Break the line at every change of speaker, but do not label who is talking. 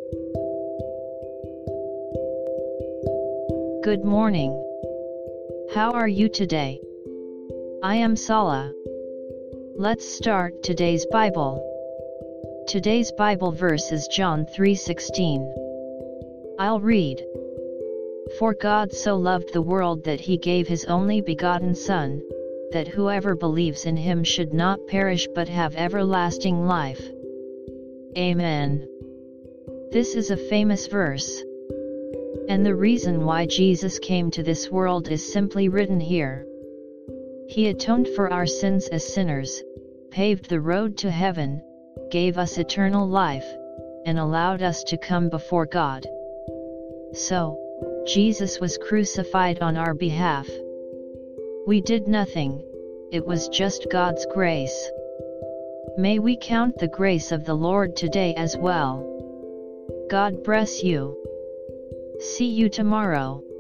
Good morning. How are you today? I am Sala. Let's start today's Bible. Today's Bible verse is John 3:16. I'll read. For God so loved the world that he gave his only begotten Son, that whoever believes in him should not perish but have everlasting life. Amen. This is a famous verse. And the reason why Jesus came to this world is simply written here. He atoned for our sins as sinners, paved the road to heaven, gave us eternal life, and allowed us to come before God. So, Jesus was crucified on our behalf. We did nothing, it was just God's grace. May we count the grace of the Lord today as well. God bless you. See you tomorrow.